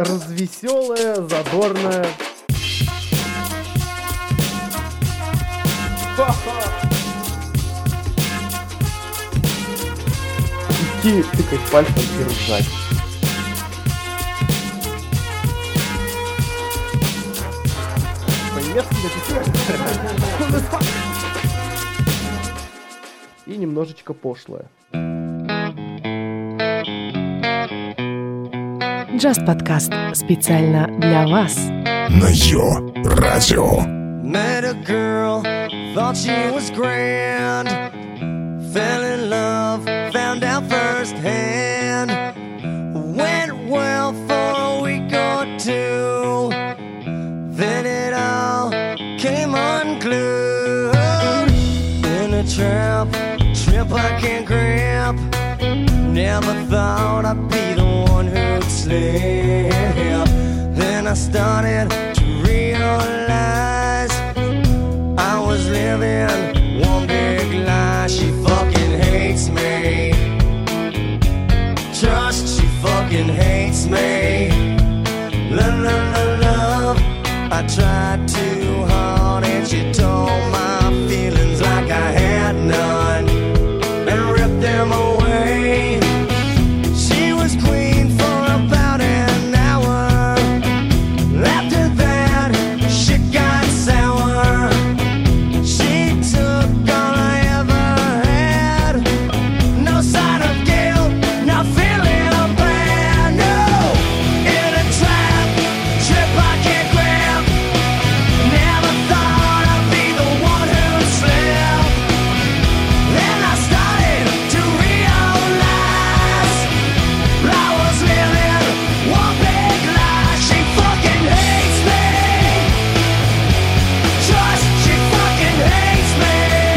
развеселая, задорная. Идти тыкать пальцем и ржать. И немножечко пошлое. Just подкаст специально для вас. На Йо-Радио. Met a girl, thought she was grand. Fell in love, found out firsthand. Went well for a week or two. Then it all came unglued. In a trap I can't grab. Never thought I'd be the one who'd slip. Then I started to realize I was living one big lie. She fucking hates me. Trust, she fucking hates me. Love, I tried too hard and she told my feelings like I had none and ripped them away. She was queen for about an hour. After that, shit got sour. She took all I ever had. No sign of guilt, not feeling bad. No, in a trap I can't grab. Never thought I'd be the one who'd slip. Then I started to realize I was living one big lie. She fucking hates me. Trust, she fucking hates me.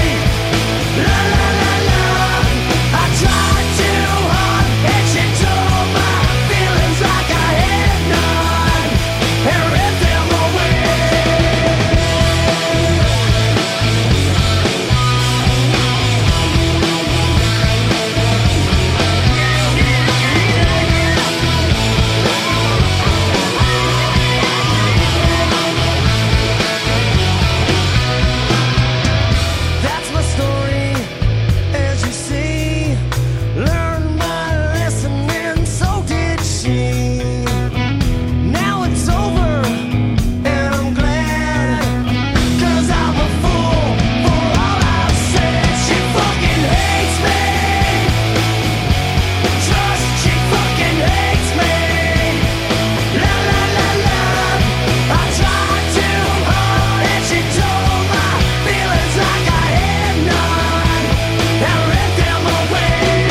Love, I tried too hard and she told my feelings like I had none and ripped them away. That's my story, as you see. Learned by listening, so did she. Now it's over, and I'm glad, 'cause I'm a fool for all I've said. She fucking hates me. Trust, she fucking hates me. Love, I tried too hard and she told my feelings like I had none and ripped them away.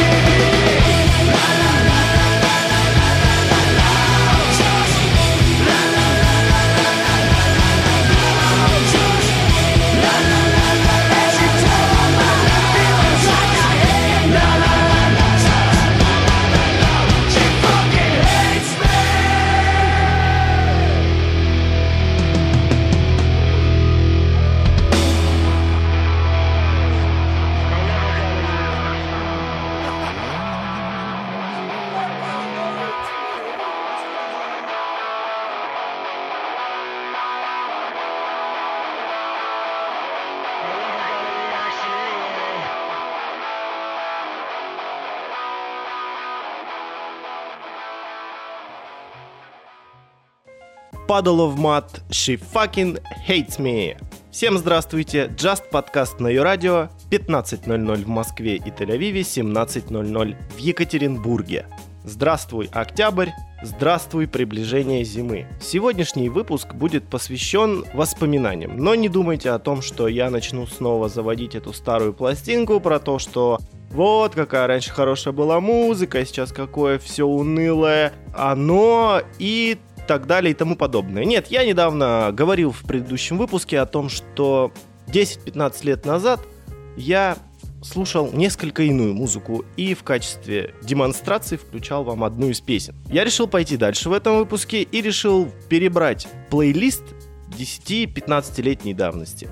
Puddle of Mud, She Fucking Hates Me. Всем здравствуйте, Just подкаст на Йо-Радио, 15:00 в Москве и Тель-Авиве, 17:00 в Екатеринбурге. Здравствуй, октябрь, здравствуй, приближение зимы. Сегодняшний выпуск будет посвящен воспоминаниям, но не думайте о том, что я начну снова заводить эту старую пластинку про то, что вот какая раньше хорошая была музыка, сейчас какое все унылое оно и так далее и тому подобное. Нет, я недавно говорил в предыдущем выпуске о том, что 10-15 лет назад я слушал несколько иную музыку и в качестве демонстрации включал вам одну из песен. Я решил пойти дальше в этом выпуске и решил перебрать плейлист 10-15-летней давности.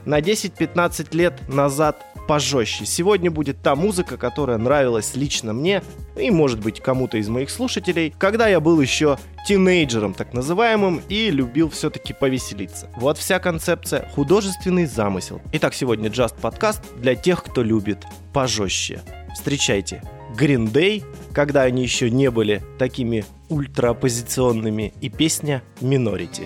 на 10-15 лет назад пожестче. Сегодня будет та музыка, которая нравилась лично мне и, может быть, кому-то из моих слушателей, когда я был еще тинейджером, так называемым, и любил все-таки повеселиться. Вот вся концепция, художественный замысел. Итак, сегодня Just подкаст для тех, кто любит пожестче. Встречайте Green Day, когда они еще не были такими ультраоппозиционными, и песня Minority.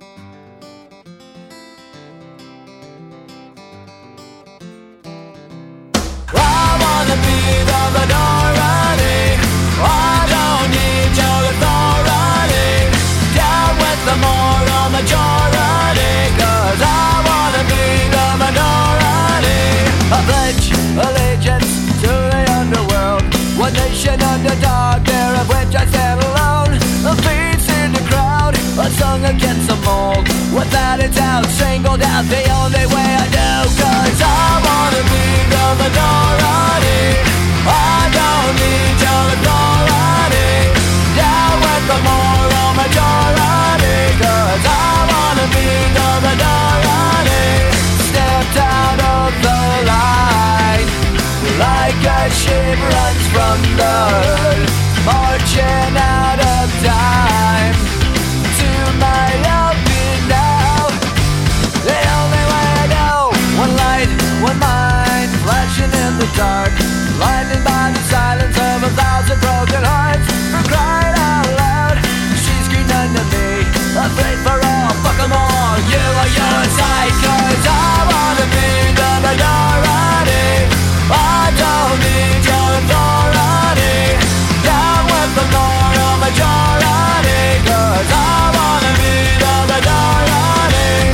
One nation under dark, there of which I stand alone. A face in the crowd, a song against the mold. Without a doubt, singled out the only way I know. Cause I wanna be the minority. I don't need your authority. Down with the moral majority. Cause I wanna be the minority. Stepped out of the line, like a ship runs from the hood, marching out of time. To my open now, the only way I know. One light, one mind, flashing in the dark, blinded by the silence of 1,000 broken hearts. For crying out loud, she screamed unto me, afraid for all, fuck them all. You are your side, cause I wanna be the minority. I don't need your authority. Down with the moral majority. Cause I wanna be the minority.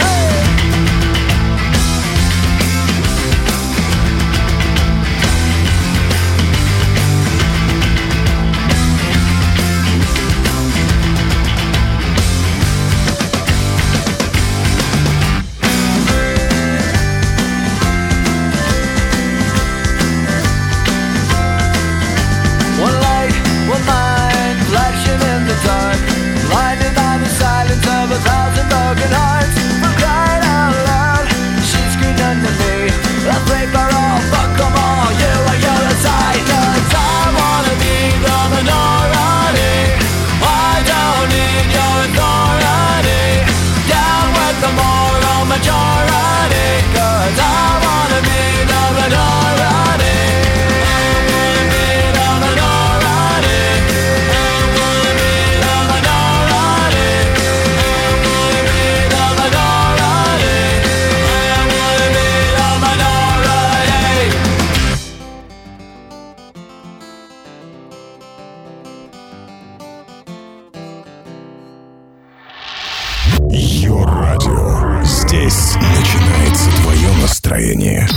Blinded by the silence of 1,000 broken hearts. For crying out loud, she screamed unto me, afraid for all, fuck them all. You are your side, cause I wanna be the minority. I don't need your authority. Down with the moral majority. Cause I wanna be the minority. Йо-радио. Здесь начинается твое настроение.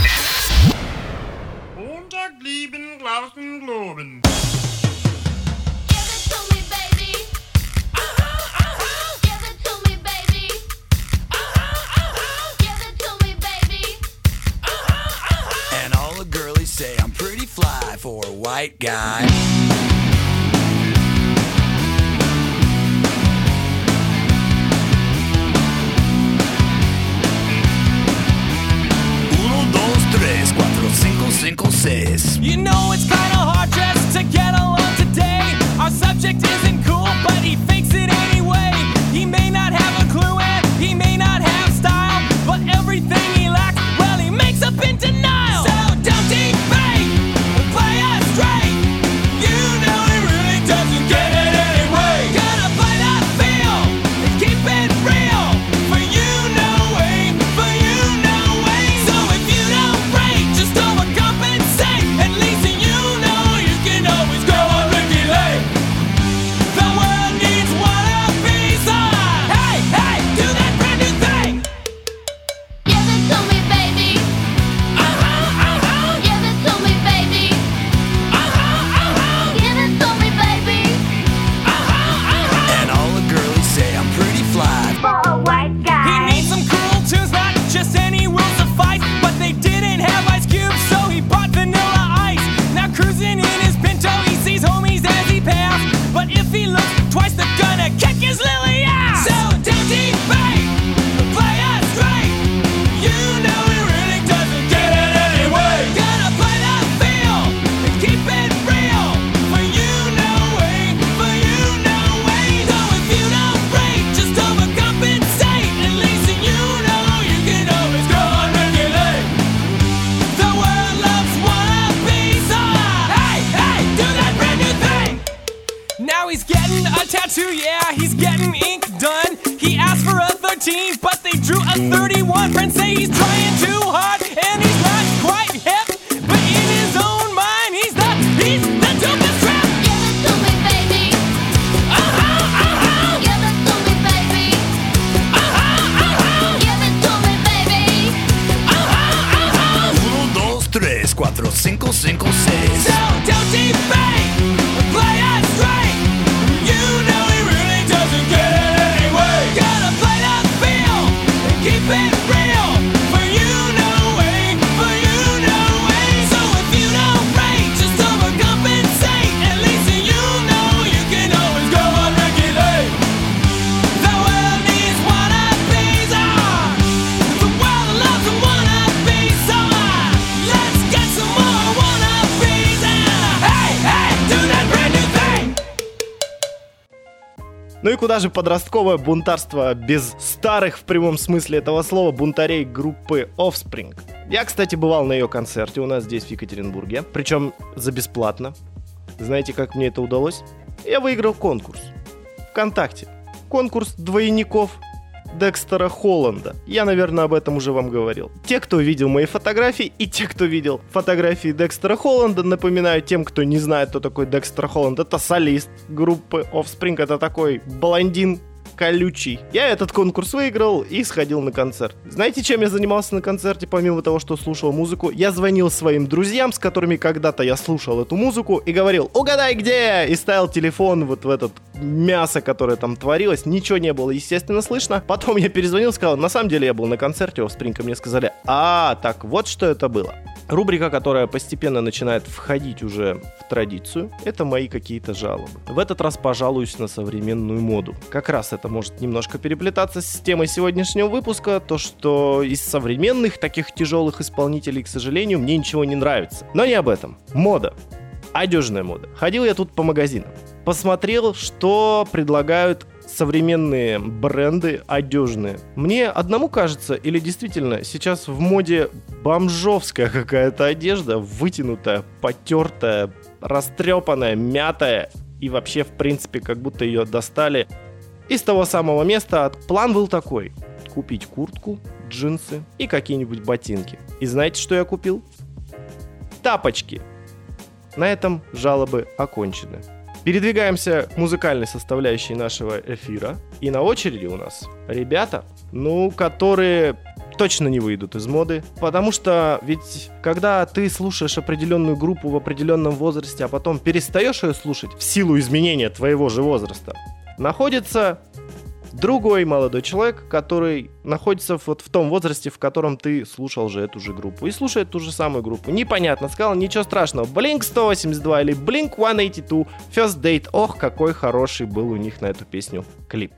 And all the girlies say I'm pretty fly for a white guy. You know it's kinda hard just to get along today. Our subject isn't cool, but he fakes it anyway. He may not have a clue and he may not have style, but everything he lacks, well, he makes up in denial. So don't debate, play us straight. You he's getting ink done. He asked for a 13, but they drew a 31. Friends say he's trying too hard, and he's not quite hip. But in his own mind, he's the dopest rap. Give it to me, baby. Give it to me, baby. Give it to me, baby. 1, 2, 3, 4, 5, 5, 6. So don't debate, play us straight. You know he really doesn't get it anyway. Gotta play the field and keep it real. For you no way, for you no way. So if you don't rate, just overcompensate. At least you know you can always go on regulate. The world needs wannabes. The world loves a wannabe. So let's get some more wannabes. And hey, hey, do that brand new thing. Ну и куда же подростковое бунтарство без старых, в прямом смысле этого слова, бунтарей группы Offspring? Я, кстати, бывал на ее концерте у нас здесь, в Екатеринбурге, причем за бесплатно. Знаете, как мне это удалось? Я выиграл конкурс. ВКонтакте. Конкурс двойников Декстера Холланда. Я, наверное, об этом уже вам говорил. Те, кто видел мои фотографии, и те, кто видел фотографии Декстера Холланда, напоминаю тем, кто не знает, кто такой Декстер Холланд, это солист группы Offspring, это такой блондин колючий. Я этот конкурс выиграл и сходил на концерт. Знаете, чем я занимался на концерте, помимо того, что слушал музыку? Я звонил своим друзьям, с которыми когда-то я слушал эту музыку, и говорил: угадай, где? И ставил телефон вот в этот мясо, которое там творилось. Ничего не было, естественно, слышно. Потом я перезвонил, сказал: на самом деле я был на концерте Offspring, и мне сказали: так вот что это было. Рубрика, которая постепенно начинает входить уже в традицию, это мои какие-то жалобы. В этот раз пожалуюсь на современную моду. Как раз это может немножко переплетаться с темой сегодняшнего выпуска, то что из современных таких тяжелых исполнителей, к сожалению, мне ничего не нравится. Но не об этом. Мода. Одежная мода. Ходил я тут по магазинам. Посмотрел, что предлагают современные бренды одежные. Мне одному кажется, или действительно сейчас в моде бомжовская какая-то одежда, вытянутая, потертая, растрепанная, мятая, и вообще, в принципе, как будто ее достали из того самого места. План был такой: купить куртку, джинсы и какие-нибудь ботинки. И знаете, что я купил? Тапочки. На этом жалобы окончены. Передвигаемся к музыкальной составляющей нашего эфира. И на очереди у нас ребята, которые точно не выйдут из моды. Потому что ведь когда ты слушаешь определенную группу в определенном возрасте, а потом перестаешь ее слушать в силу изменения твоего же возраста, находится другой молодой человек, который находится вот в том возрасте, в котором ты слушал же эту же группу. И слушает ту же самую группу. Непонятно, сказал, ничего страшного. Blink-182 или Blink-182 First Date. Ох, какой хороший был у них на эту песню клип.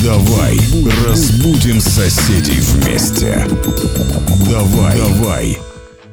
Давай разбудим соседей вместе. Давай.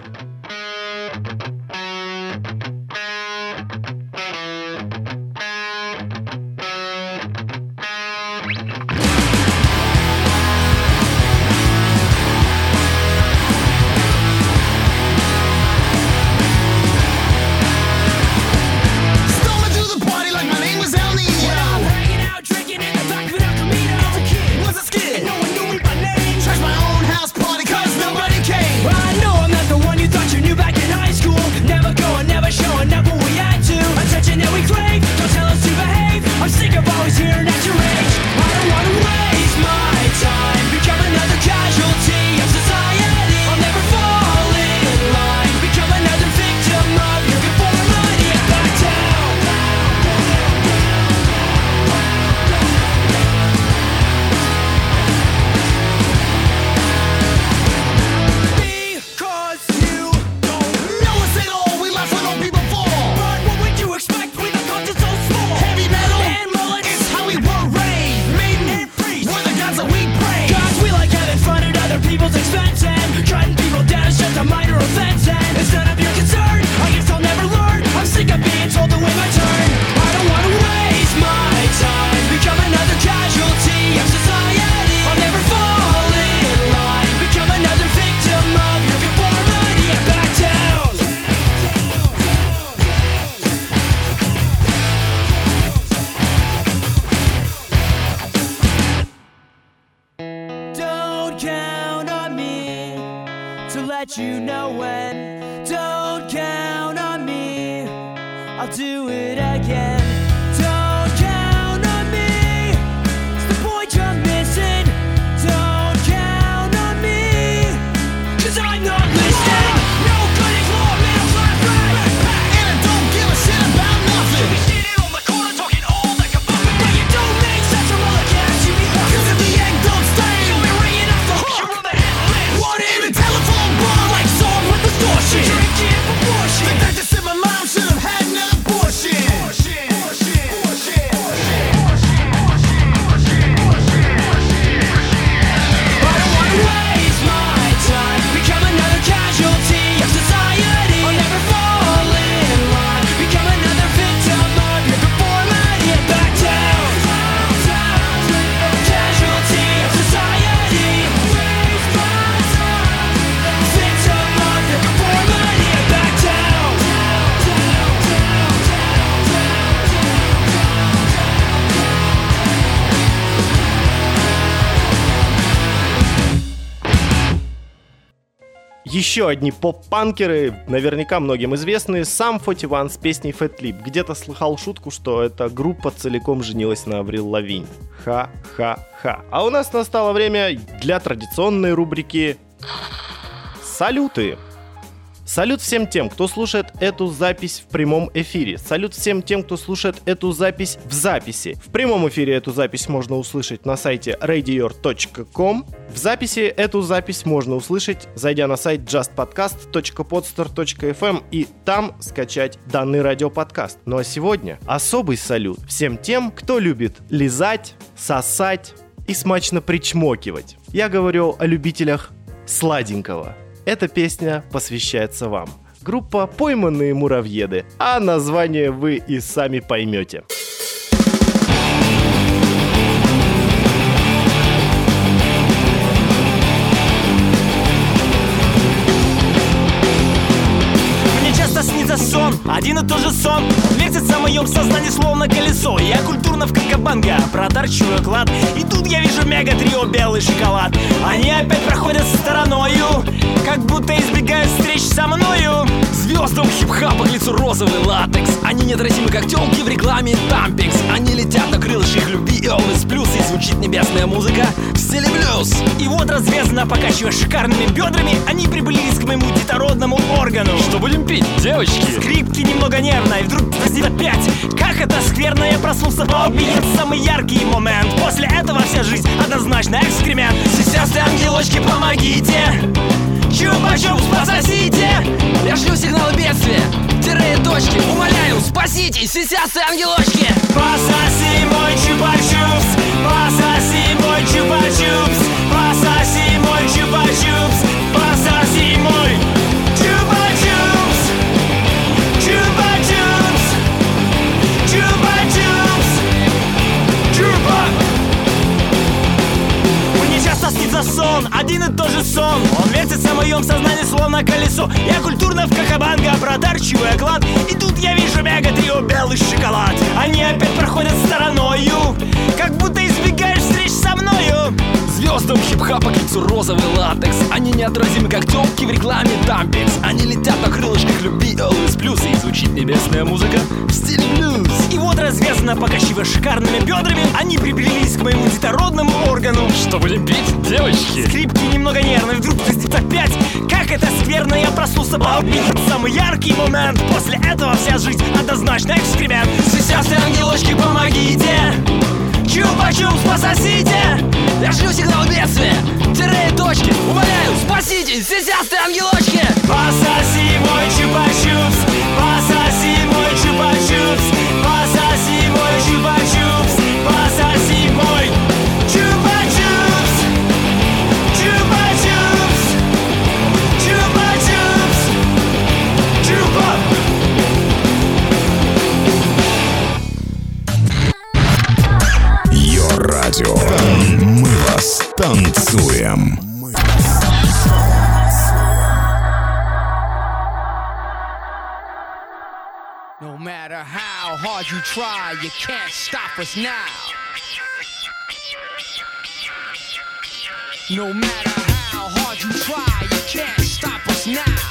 let you know when. Don't count on me, I'll do it again. Don't count on me, it's the point you're missing. Don't count on me, 'cause I'm not listening. No good is law, middle class right. And I don't give a shit about nothing. You be sitting on the corner talking all like a buffet. But you don't make sense from all the cash you be huffing. 'Cause if the egg don't stay, you'll be ringing off the hook. You're on the hit list. What in the telephone bar like song with distortion. Drinking proportion. The doctor said my mom should have had an abortion. I don't wanna waste my time, become another casualty of society. I'll never fall in line, become another victim of your performance. Get back down, casualty of society. Waste my time, victim of your performance. Get back down. Еще одни поп-панкеры, наверняка многим известные, Sum 41 с песней Fat Lip. Где-то слыхал шутку, что эта группа целиком женилась на Аврил Лавинь. Ха-ха-ха. А у нас настало время для традиционной рубрики «Салюты». Салют всем тем, кто слушает эту запись в прямом эфире. Салют всем тем, кто слушает эту запись в записи. В прямом эфире эту запись можно услышать на сайте radior.com. В записи эту запись можно услышать, зайдя на сайт justpodcast.podstar.fm и там скачать данный радиоподкаст. Ну а сегодня особый салют всем тем, кто любит лизать, сосать и смачно причмокивать. Я говорю о любителях сладенького. Эта песня посвящается вам. Группа «Пойманные муравьеды», а название вы и сами поймете. Мне часто снится сон, один и тот же сон. Вертится в моем сознании словно колесо. Я культурно в Кокобанга проторчую клад. И тут я вижу мега-трио белый шоколад. Они опять проходят стороною, как будто избегают встреч со мною. Звездам хип-хапа к лицу розовый латекс. Они неотразимы, как тёлки в рекламе Тампекс. Они летят на крылышках любви и Elvis Плюс. И звучит небесная музыка в стиле блюз. И вот развязно покачивая шикарными бедрами, они приблизились к моему детородному органу. Что будем пить, девочки? Скрипки немного нервно, и вдруг возник опять. Как это скверно, я проснулся в обмен. Самый яркий момент. После этого вся жизнь однозначно экскремент. Сестры, ангелочки, помогите. Чупа-чупс пососите. Я шлю сигналы бедствия. Тире точки, умоляю, спаситесь, сисястые ангелочки. Пососи мой чупа-чупс, пососи мой чупа-чупс, пососи мой чупа-чупс, пососи мой чупа-чупс, чупа-чупс, чупа-чупс, чупа. Мне часто снится сон, один и тот же сон. Он вертится в моем сознании словно колесо. Я культурно в Кахабанга протарчиваю клад. И тут я вижу мега-трио белый шоколад. Они опять проходят стороною, как будто избегаешь встреч со мною. Звездам хип-хапа к лицу розовый латекс. Они неотразимы, как тёлки в рекламе Тампекс. Они летят на крылышках любви Always Plus. И звучит небесная музыка в стиле блюз. И вот развязано, покачивая шикарными бедрами, они приблизились к моему детородному органу. Что будем пить, девочки? Скрипки немного нервные, вдруг пиздец опять. Как это скверно, я проснулся, балбит. Самый яркий момент, после этого вся жизнь однозначно экскремент. Сисястые ангелочки, помогите! Чупа-чупс, пососите! Я шлю сигнал бедствия, тире и точки. Умоляю, спаситесь, сисястые ангелочки. Пососи мой чупа-чупс, пососи мой чупа-чупс, пососи мой чупа-чупс, пососи мой чупа-чупс, чупа-чупс, чупа-чупс, чупа. Йо-радио. Мы вас танцуем. No matter how hard you try, you can't stop us now. No matter how hard you try, you can't stop us now.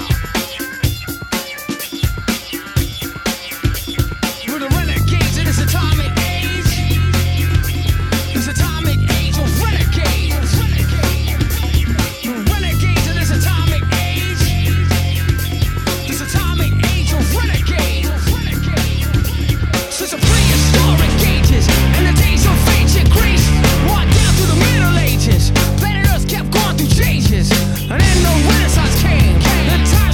We're the renegades in this atomic age. This atomic age of renegades. We're renegades in this atomic age. This atomic age of renegades. Since the prehistoric ages and the days of ancient Greece, walked down through the Middle Ages, planet Earth kept going through changes, and then the Renaissance came. The time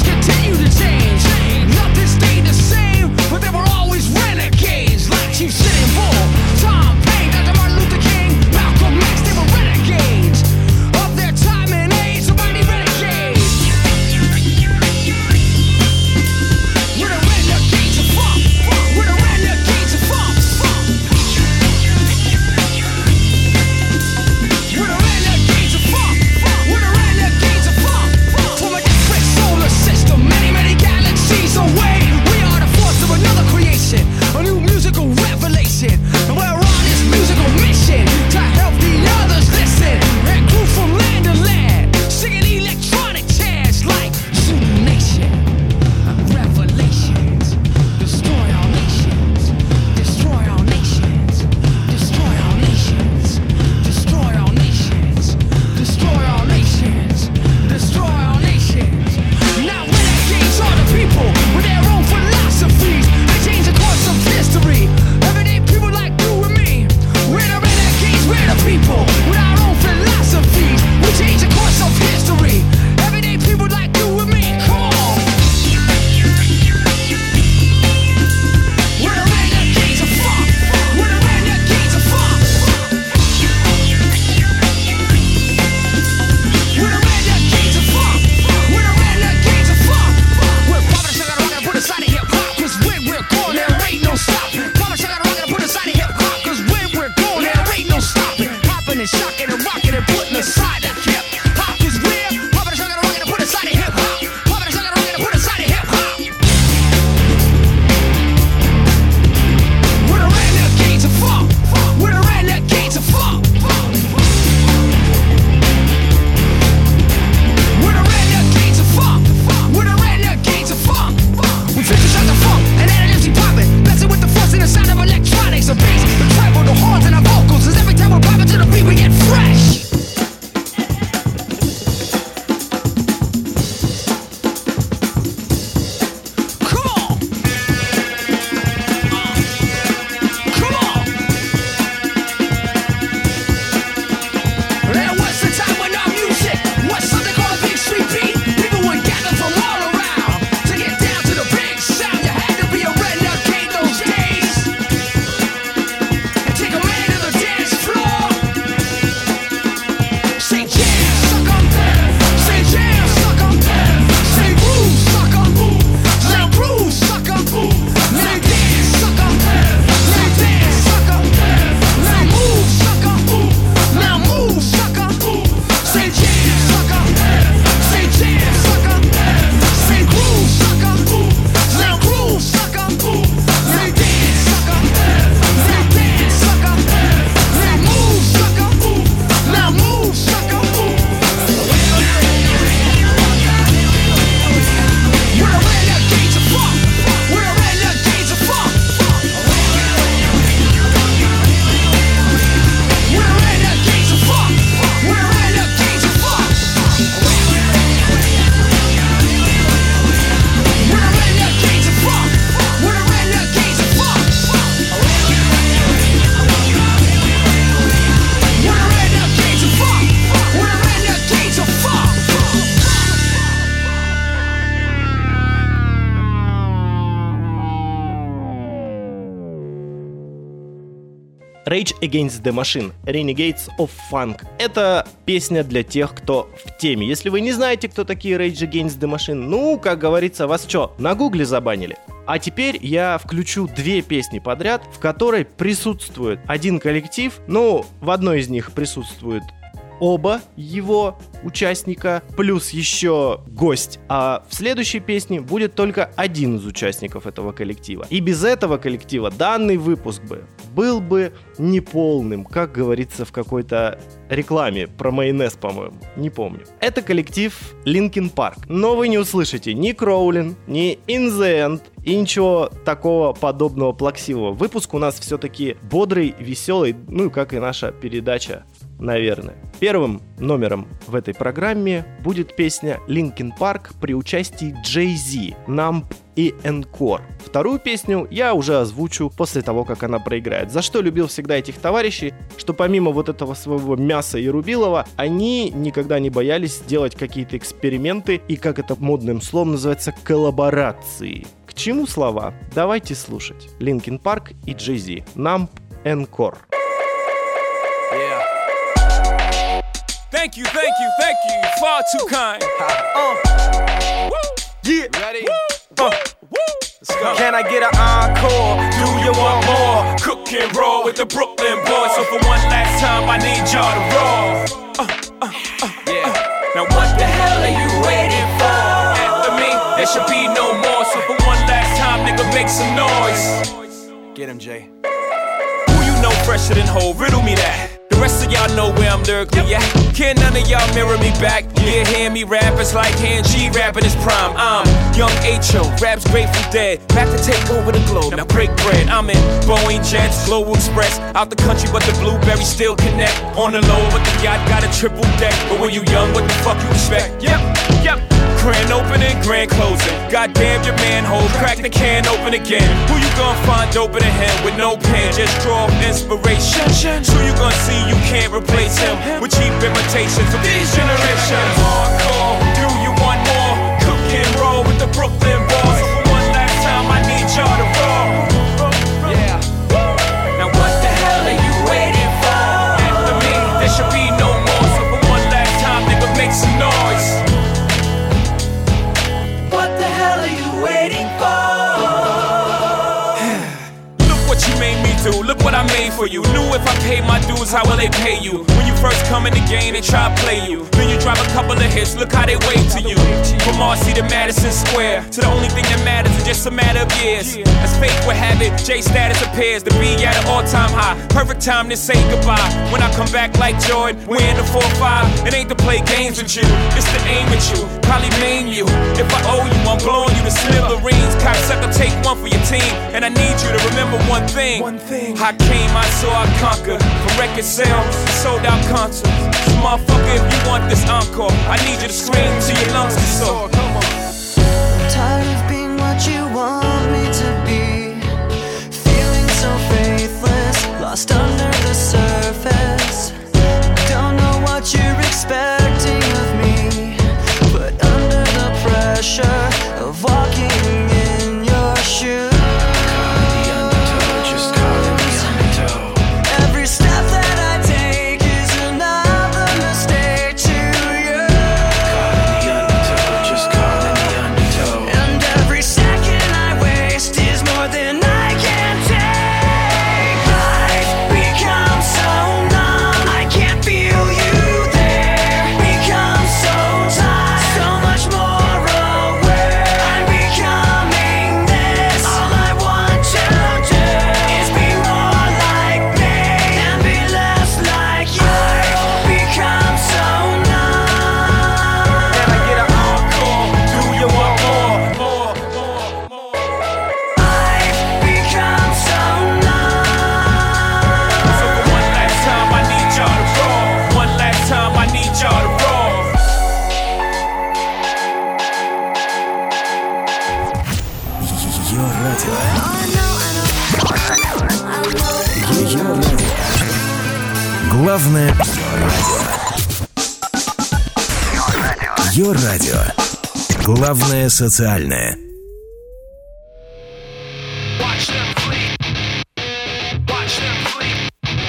Rage Against the Machine, Renegades of Funk. Это песня для тех, кто в теме. Если вы не знаете, кто такие Rage Against the Machine, ну, как говорится, вас что, на гугле забанили? А теперь я включу две песни подряд, в которой присутствует один коллектив. Ну, в одной из них присутствует оба его участника, плюс еще гость. А в следующей песне будет только один из участников этого коллектива. И без этого коллектива данный выпуск был бы неполным, как говорится в какой-то рекламе про майонез, по-моему. Не помню. Это коллектив Linkin Park. Но вы не услышите ни Crawling, ни In the End и ничего такого подобного плаксивого. Выпуск у нас все-таки бодрый, веселый, ну, как и наша передача, наверное. Первым номером в этой программе будет песня Linkin Park при участии Jay-Z, Numb и Encore. Вторую песню я уже озвучу после того, как она проиграет. За что любил всегда этих товарищей, что помимо вот этого своего мяса и рубилова, они никогда не боялись делать какие-то эксперименты и, как это модным словом называется, коллаборации. К чему слова? Давайте слушать. Linkin Park и Jay-Z, Numb, Encore. Thank you, far too kind. Yeah. Ready? Let's go. Can I get an encore? Do you want more? Cook and roll with the Brooklyn boys. So for one last time, I need y'all to roll. Yeah. Now what the hell are you waiting for? After me, there should be no more. So for one last time, nigga, make some noise. Get him, Jay. Who you know fresher than Ho? Riddle me that. The rest of y'all know where I'm lyrically at. Can none of y'all mirror me back? Yeah, hear me rap, it's like Han G rapping his prime. I'm Young H.O., raps Grateful Dead, back to take over the globe, now break bread. I'm in Boeing Jets, Global Express, out the country but the blueberries still connect. On the low but the yacht got a triple deck. But when you young, what the fuck you expect? Yep. Grand opening, grand closing. Goddamn your manhole, crack the can open again. Who you gonna find open to him with no pen? Just draw inspiration. Who you gonna see you can't replace him with cheap imitations of these generations? Hardcore, do you want more? Cook and roll with the Brooklyn boys. So for one last time, I need y'all to roll. Yeah. Now what the hell are you waiting for? After me, there should be no more. So for one last time, nigga, make some noise. What the hell are you waiting for? Look what you made me do, look what I made for you. Knew if I paid my dues, how will they pay you? When you first come in the game, they try to play you. Then you drop a couple of hits, look how they wave to you. From Marcy to Madison Square, to the only thing that matters is just a matter of years. As fate would have it, J status appears to be at an all-time high. Perfect time to say goodbye. When I come back like Jordan, we're in the 4-5. It ain't to play games with you, it's to aim at you, probably maim you. If I owe you, I'm blowing you to smithereens. Cocksucker, take one for your team, and I need you to remember one thing. I came, I saw, I conquered. From record sales, sold out concerts. So motherfucker, if you want this encore, I need you to scream till your lungs get sore. Come on. Tired of being what you want me to be, feeling so faithless, lost under the surface. Don't know what you're expecting of me, but under the pressure of walking in your shoes, every step that I take is another mistake to you. And every second I waste is more than I can take. I've become so numb, I can't feel you there. Become so tired, so much more aware. I'm becoming this. All I want to do is be more like me and be less like you. I've become so numb. Can I get an encore? Do you want more? I've become so numb. So for one last time, I need y'all to roll. One last time, I need y'all to roll. Ее радио. Главное радио. Ее радио. Главное социальное. Watch them flee. Watch them flee.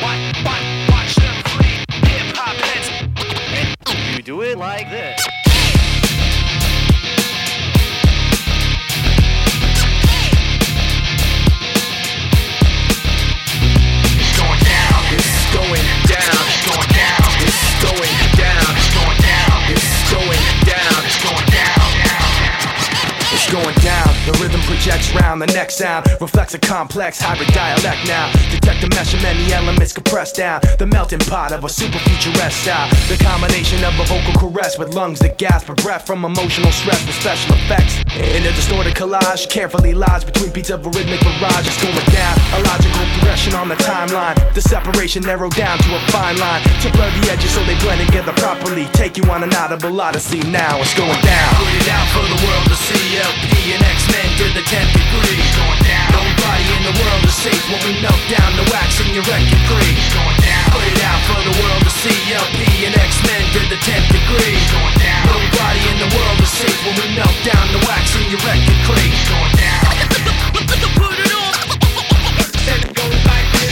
projects round. The next sound reflects a complex hybrid dialect now. Detect the mesh of many elements compressed down. The melting pot of a super futuresque style. The combination of a vocal caress with lungs that gasp for breath from emotional stress with special effects. In a distorted collage, carefully lies between beats of a rhythmic barrage. It's going down, a logical progression on the timeline. The separation narrowed down to a fine line to blur the edges so they blend together properly. Take you on an audible odyssey now. It's going down. Put it out for the world to see. LP and X-Men to the 10th degree. Going down. Nobody in the world is safe when we melt down the wax in your record creep. Going down. Put it out for the world to see. LP and X-Men to the 10th degree. Going down. Nobody in the world is safe when we melt down the wax in your record creep. Going down. Put it on. Then it goes like this.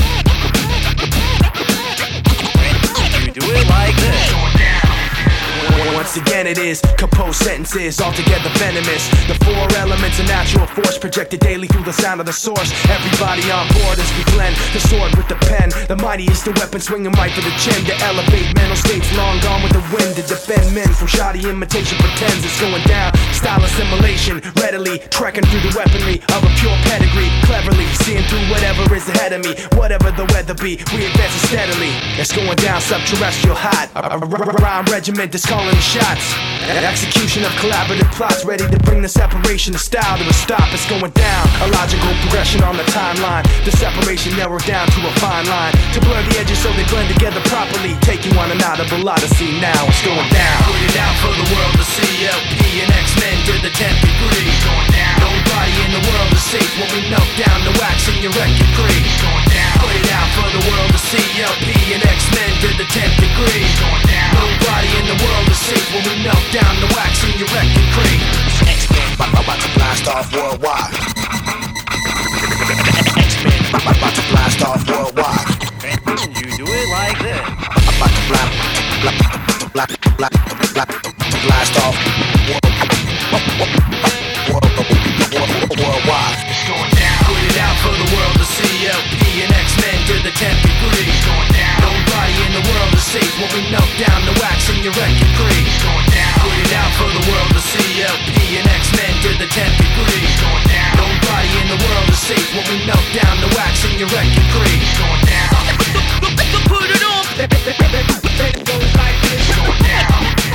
You do it like this. Going down. Once again it is composed sentences altogether venomous. The four elements of natural force projected daily through the sound of the source. Everybody on board as we blend the sword with the pen. The mightiest the weapon swinging right for the chin. To elevate mental states long gone with the wind. To defend men from shoddy imitation pretends it's going down. Style assimilation readily trekking through the weaponry of a pure pedigree. Cleverly seeing through whatever is ahead of me. Whatever the weather be, we advance steadily. It's going down subterrestrial hot. A rhyme regiment that's calling the shots. Execution of collaborative plots ready to bring the separation of style to a stop. It's going down. A logical progression on the timeline. The separation narrowed down to a fine line to blur the edges so they blend together properly. Take you on an audible odyssey now. It's going down. Put it out for the world to see. LP and X-Men to the 10th degree. Going down. Nobody in the world is safe when we melt down the wax in your record creep. Going down. Put it out for the world to see. LP and X-Men to the 10th degree. Going down. Nobody in the world is safe when we melt down the wax in your record creep. X-Men about to blast off worldwide. X-Men about to blast off worldwide. You do it like this. About to blast off worldwide. It's going down. Put it out for the world to see. LP and X-Men to the 10th degree. It's going down. Nobody in the world is safe when we melt down the wax in your record creep. It's going down. Put it out for the world to see. LP and X-Men to the 10th degree. It's going down. Nobody in the world is safe when we melt down the wax in your record creep. It's going down. Put it on. Then it goes like this. It's going down.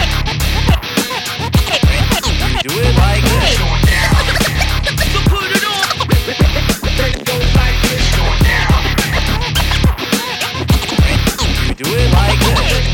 You do it like this. It's going down. Put it on. Then it goes like this. It's going down. You do it like this.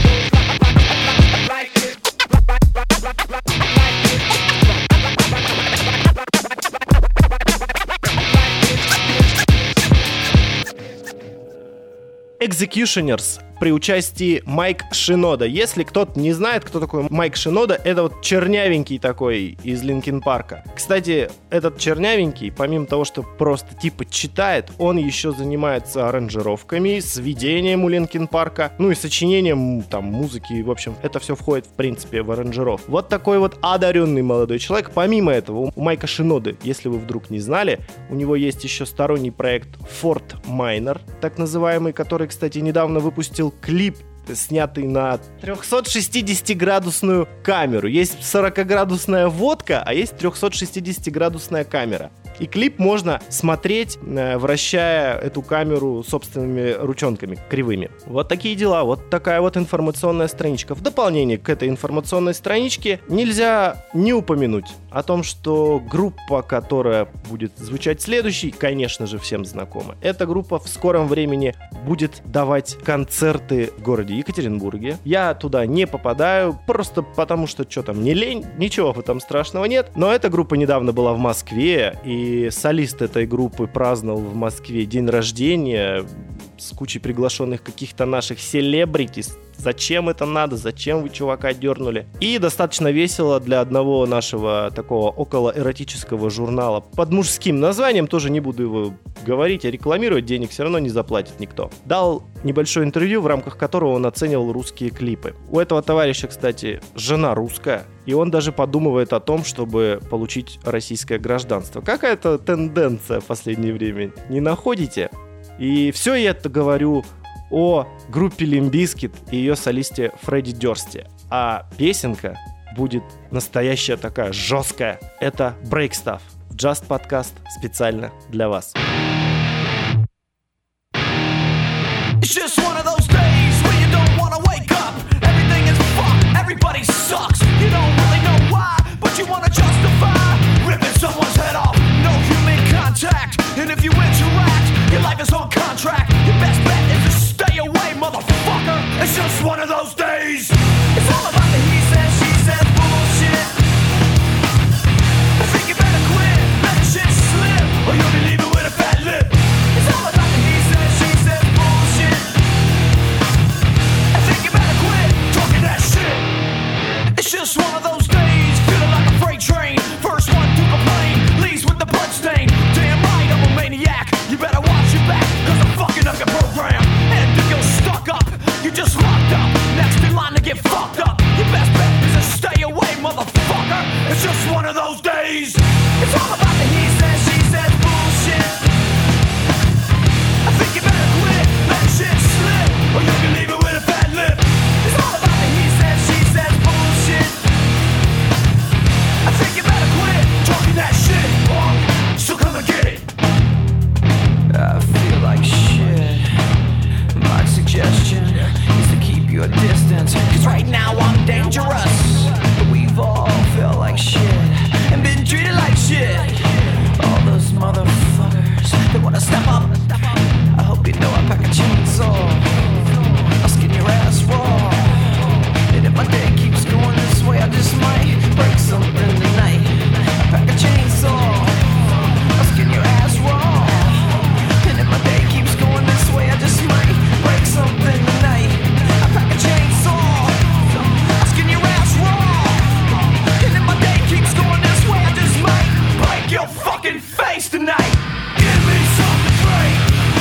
Executioners при участии Майк Шинода. Если кто-то не знает, кто такой Майк Шинода, это вот чернявенький такой из Линкин Парка. Кстати, этот чернявенький, помимо того, что просто типа читает, он еще занимается аранжировками, сведением у Линкин Парка, ну и сочинением там музыки. В общем, это все входит, в принципе, в аранжировку. Вот такой вот одаренный молодой человек. Помимо этого, у Майка Шиноды, если вы вдруг не знали, у него есть еще сторонний проект Fort Minor, так называемый, который, кстати, недавно выпустил клип, снятый на 360-градусную камеру. Есть 40-градусная водка, а есть 360-градусная камера. И клип можно смотреть, вращая эту камеру собственными ручонками кривыми. Вот такие дела, вот такая вот информационная страничка. В дополнение к этой информационной страничке нельзя не упомянуть о том, что группа, которая будет звучать следующей, конечно же, всем знакома. Эта группа в скором времени будет давать концерты в городе Екатеринбурге. Я туда не попадаю, просто потому что что там, не лень, ничего в этом страшного нет. Но эта группа недавно была в Москве, и солист этой группы праздновал в Москве день рождения с кучей приглашенных каких-то наших селебритис. Зачем это надо? Зачем вы чувака дернули? И достаточно весело для одного нашего такого околоэротического журнала под мужским названием, тоже не буду его говорить, а рекламировать, денег все равно не заплатит никто. Дал небольшое интервью, в рамках которого он оценивал русские клипы. У этого товарища, кстати, жена русская, и он даже подумывает о том, чтобы получить российское гражданство. Какая-то тенденция в последнее время, не находите? И все я это говорю о группе Limp Bizkit и ее солисте Фредди Дёрсти. А песенка будет настоящая такая, жесткая. Это Break Stuff. Just подкаст специально для вас. It's just one of those days when you don't wanna wake up. Everything is fucked, everybody sucks. You don't really know why, but you wanna justify ripping someone's head off. No human contact, and if you interact, your life is on contract. Your best bet is to stay away, motherfucker. It's just one of those days. It's all about the he says, she says bullshit. I think you better quit, let the shit slip, or you'll be leaving with a fat lip. It's all about the he says, she says bullshit. I think you better quit talking that shit. It's just one of those days, feeling like a freight train. First one to complain, leaves with the bloodstain. Damn right, I'm a maniac. You better watch your back, cause I'm fucking up your program. And if you're stuck up, you're just locked up. Next in line to get fucked up. Your best bet is to stay away, motherfucker. It's just one of those days. It's all about the he says, she says bullshit. I think you better quit, let shit slip, or you can leave it with a fat lip. It's all about the he says, she says bullshit. I think you better quit talking that shit, punk. So come and get it. I feel like shit. My suggestion is to keep your distance, cause right now I'm dangerous. We've all felt like shit and been treated like shit. All those motherfuckers that wanna step up, I hope you know I pack a chainsaw. I'll skin your ass raw. And if my day keeps going this way, I just might break something tonight. I pack a chainsaw. I'll skin your ass raw. And if my day keeps going this way, I just might break something tonight. I pack a chainsaw. I'll skin your ass raw. And if my day keeps going this way, I just might break your fucking face tonight. Give me something to break.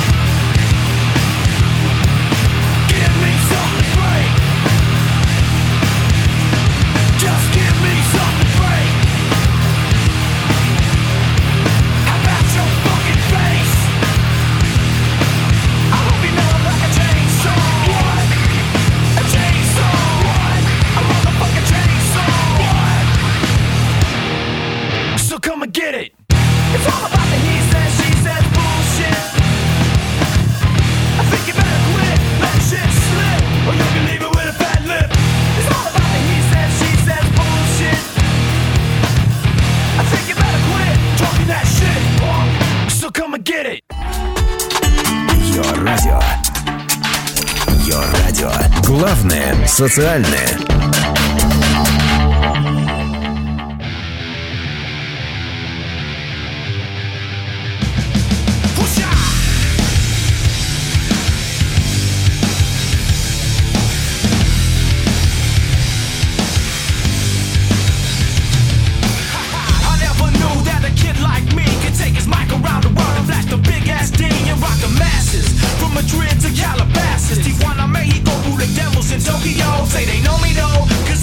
Give me something to break. Just give me something to break. How about your fucking face? I hope you know I'm like a chainsaw. What? A chainsaw. What? A motherfucking chainsaw. What? So come and get it. It's all about the he says, she says bullshit. I think you better quit, let shit slip, or you can leave it with a fat lip. It's all about the he says, she says bullshit. I think you better quit talking that shit, punk. So come and get it. Йо радио. Йо радио. Главное социальное. I never knew that a kid like me could take his mic around the world and flash the big ass D and rock the masses. From Madrid to Calabasas, Tijuana, Mexico, who the devils in Tokyo say they know me though, cause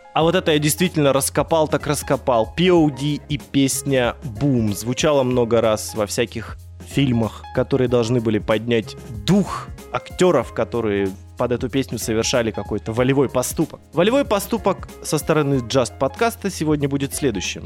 А вот это я действительно раскопал, так раскопал. POD и песня «Boom» звучала много раз во всяких фильмах, которые должны были поднять дух актеров, которые под эту песню совершали какой-то волевой поступок. Волевой поступок со стороны Just подкаста сегодня будет следующим.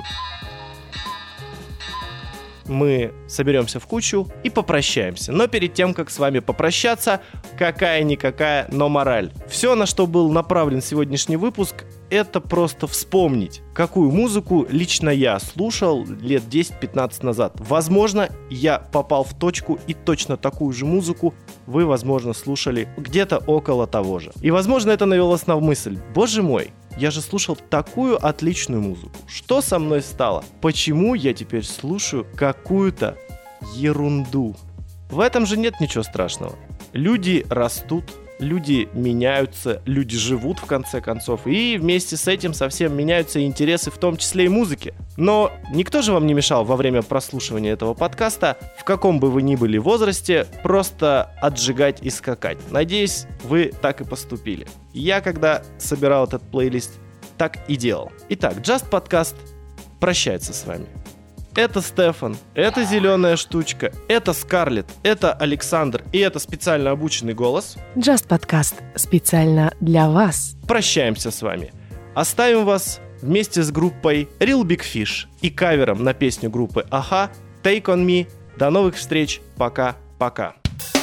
Мы соберемся в кучу и попрощаемся. Но перед тем, как с вами попрощаться, какая-никакая, но мораль. Все, на что был направлен сегодняшний выпуск, это просто вспомнить, какую музыку лично я слушал лет 10-15 назад. Возможно, я попал в точку, и точно такую же музыку вы, возможно, слушали где-то около того же. И, возможно, это навело вас на мысль: боже мой, я же слушал такую отличную музыку. Что со мной стало? Почему я теперь слушаю какую-то ерунду? В этом же нет ничего страшного. Люди растут, люди меняются, люди живут в конце концов. И вместе с этим совсем меняются и интересы, в том числе и музыки. Но никто же вам не мешал во время прослушивания этого подкаста, в каком бы вы ни были возрасте, просто отжигать и скакать. Надеюсь, вы так и поступили. Я, когда собирал этот плейлист, так и делал. Итак, Just подкаст прощается с вами. Это Стефан, это Зеленая штучка, это Скарлетт, это Александр и это специально обученный голос. Just подкаст специально для вас. Прощаемся с вами. Оставим вас вместе с группой Real Big Fish и кавером на песню группы Aha Take On Me. До новых встреч. Пока-пока.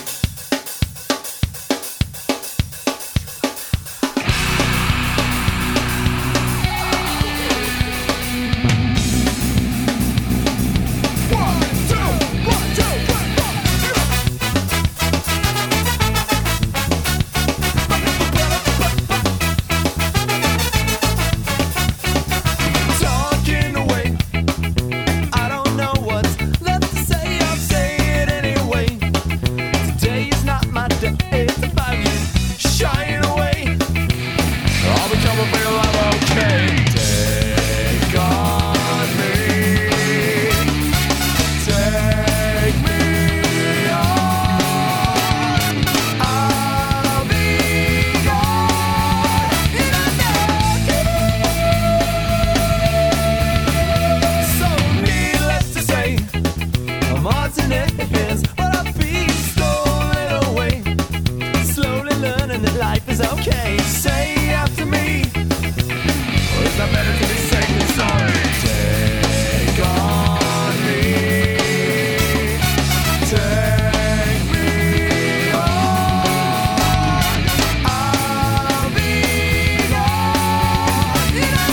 Talking away, I don't know what's left to say. I'll say it anyway. Today is not my day. It's about you shying away. I'll become a real life, okay. Take on me. Take me on. I'll be gone in a So needless to say, I'm odds in hands, but I'll be stolen away. Slowly learning that life is okay. Say after me, or is that better to be safe than sorry? Take on me. Take me on. I'll be gone in a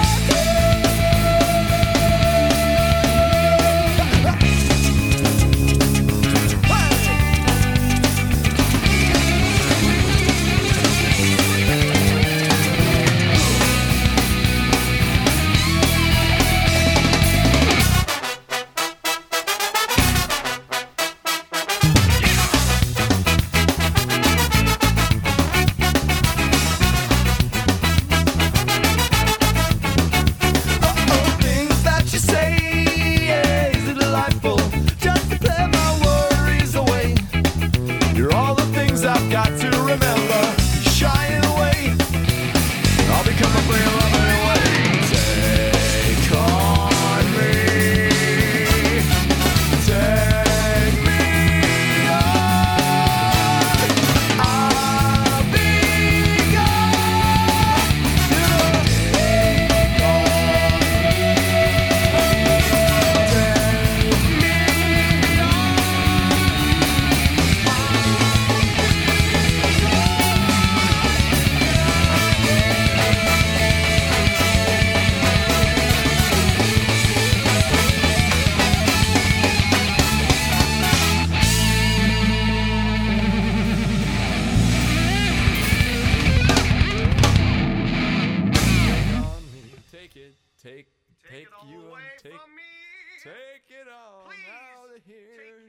things that you say, yeah, is it delightful just to play my worries away? You're all the things I've got to remember. Shying away, I'll become a real lover anyway. Take on me. Take me on. I'll be gone. Take on Take it all away from me. Take it all out of here.